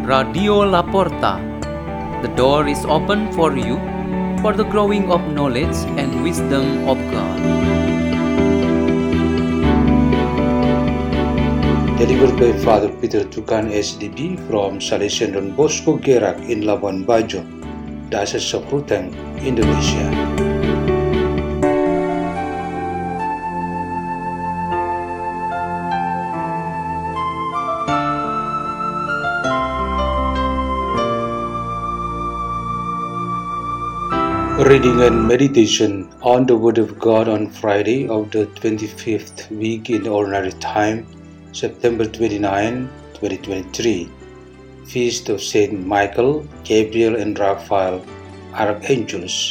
Radio La Porta. The door is open for you for the growing of knowledge and wisdom of God. Delivered by Father Peter Tukan SDB from Salesian Don Bosco Gerak in Labuan Bajo, Diocese of Ruteng, Indonesia. Reading and meditation on the Word of God on Friday of the 25th week in Ordinary Time, September 29, 2023. Feast of Saint Michael, Gabriel and Raphael, Archangels.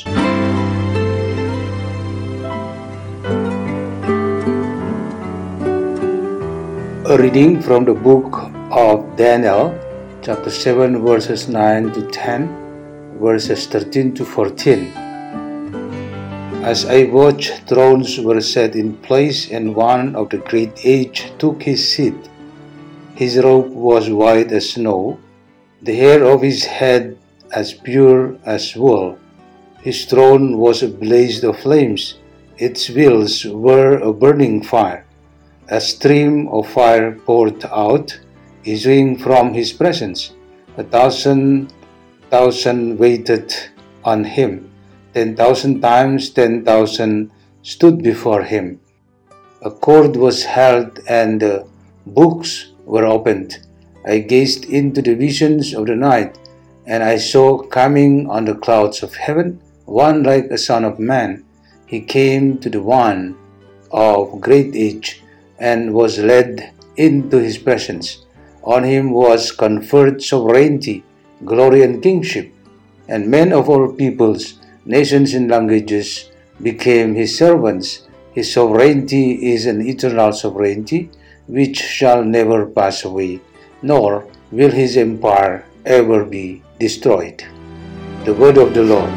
A reading from the book of Daniel, chapter 7, verses 9 to 10, verses 13 to 14. As I watched, thrones were set in place, and one of the great age took his seat. His robe was white as snow, the hair of his head as pure as wool. His throne was a blaze of flames, its wheels were a burning fire. A stream of fire poured out, issuing from his presence. 1,000 waited on him. 10,000 times 10,000 stood before him. A cord was held and the books were opened. I gazed into the visions of the night, and I saw coming on the clouds of heaven one like a son of man. He came to the one of great age and was led into his presence. On him was conferred sovereignty, glory and kingship, and men of all peoples, nations and languages became his servants. His sovereignty is an eternal sovereignty which shall never pass away, nor will his empire ever be destroyed. The word of the Lord.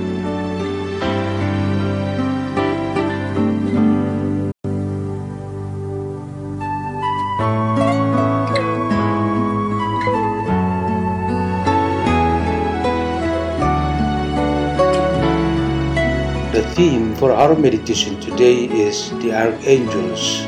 The theme for our meditation today is the Archangels.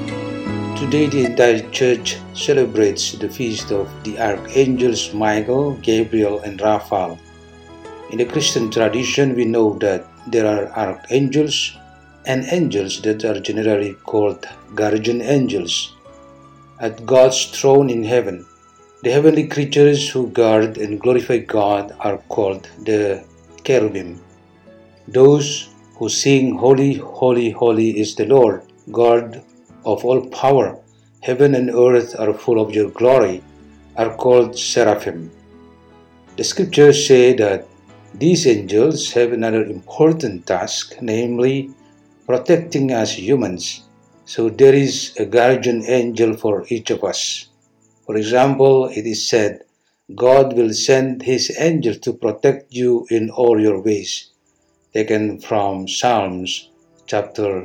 Today the entire church celebrates the feast of the Archangels Michael, Gabriel and Raphael. In the Christian tradition we know that there are archangels and angels that are generally called guardian angels. At God's throne in heaven, the heavenly creatures who guard and glorify God are called the cherubim. Those who sing, Holy, holy, holy is the Lord, God of all power, heaven and earth are full of your glory, are called seraphim. The scriptures say that these angels have another important task, namely protecting us humans. So there is a guardian angel for each of us. For example, it is said, God will send his angel to protect you in all your ways. Taken from Psalms chapter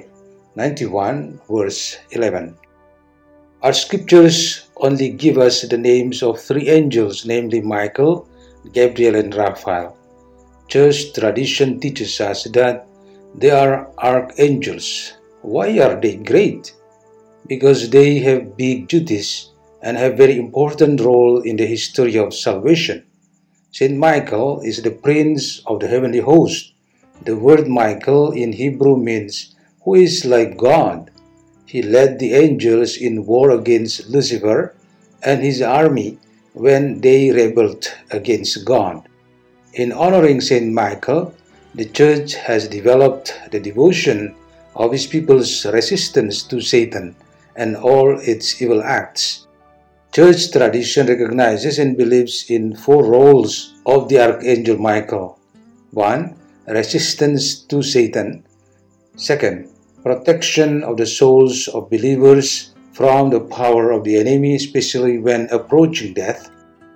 91 verse 11. Our scriptures only give us the names of three angels, namely Michael, Gabriel and Raphael. Church tradition teaches us that they are archangels. Why are they great? Because they have big duties and have very important role in the history of salvation. Saint Michael is the prince of the heavenly host. The word Michael in Hebrew means who is like God. He led the angels in war against Lucifer and his army when they rebelled against God. In honoring Saint Michael, the Church has developed the devotion of his people's resistance to Satan and all its evil acts. Church tradition recognizes and believes in four roles of the Archangel Michael. 1. Resistance to Satan. 2. Protection of the souls of believers from the power of the enemy, especially when approaching death.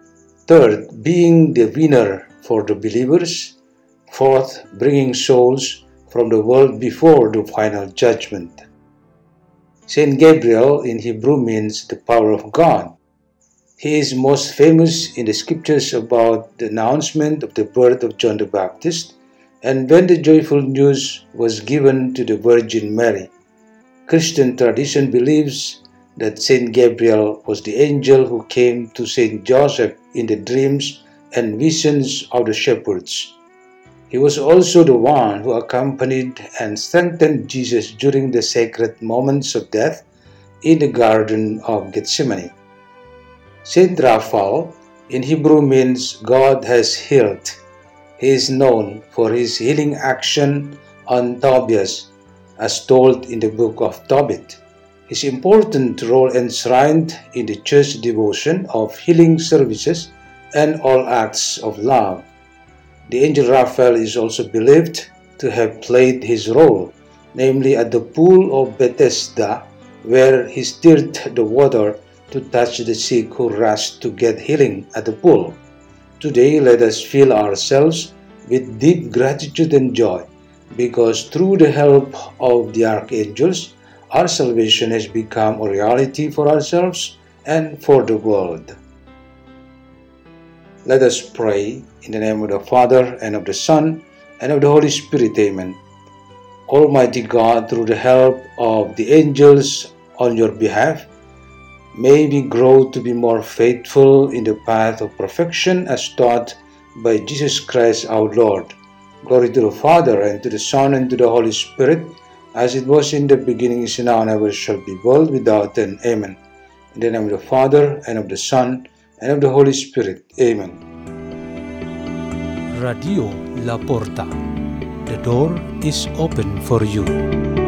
3. Being the winner for the believers. 4. Bringing souls from the world before the final judgment. Saint Gabriel in Hebrew means the power of God. He is most famous in the scriptures about the announcement of the birth of John the Baptist and when the joyful news was given to the Virgin Mary. Christian tradition believes that Saint Gabriel was the angel who came to Saint Joseph in the dreams and visions of the shepherds. He was also the one who accompanied and strengthened Jesus during the sacred moments of death in the Garden of Gethsemane. Saint Raphael in Hebrew means God has healed. He is known for his healing action on Tobias, as told in the book of Tobit. His important role enshrined in the church devotion of healing services and all acts of love. The angel Raphael is also believed to have played his role, namely at the pool of Bethesda, where he stirred the water to touch the sick who rushed to get healing at the pool. Today, let us fill ourselves with deep gratitude and joy, because through the help of the archangels, our salvation has become a reality for ourselves and for the world. Let us pray in the name of the Father, and of the Son, and of the Holy Spirit. Amen. Almighty God, through the help of the angels on your behalf, may we grow to be more faithful in the path of perfection as taught by Jesus Christ our Lord. Glory to the Father, and to the Son, and to the Holy Spirit, as it was in the beginning, is now, and ever shall be, world without end. Amen. In the name of the Father, and of the Son, and of the Holy Spirit. Amen. Radio La Porta. The door is open for you.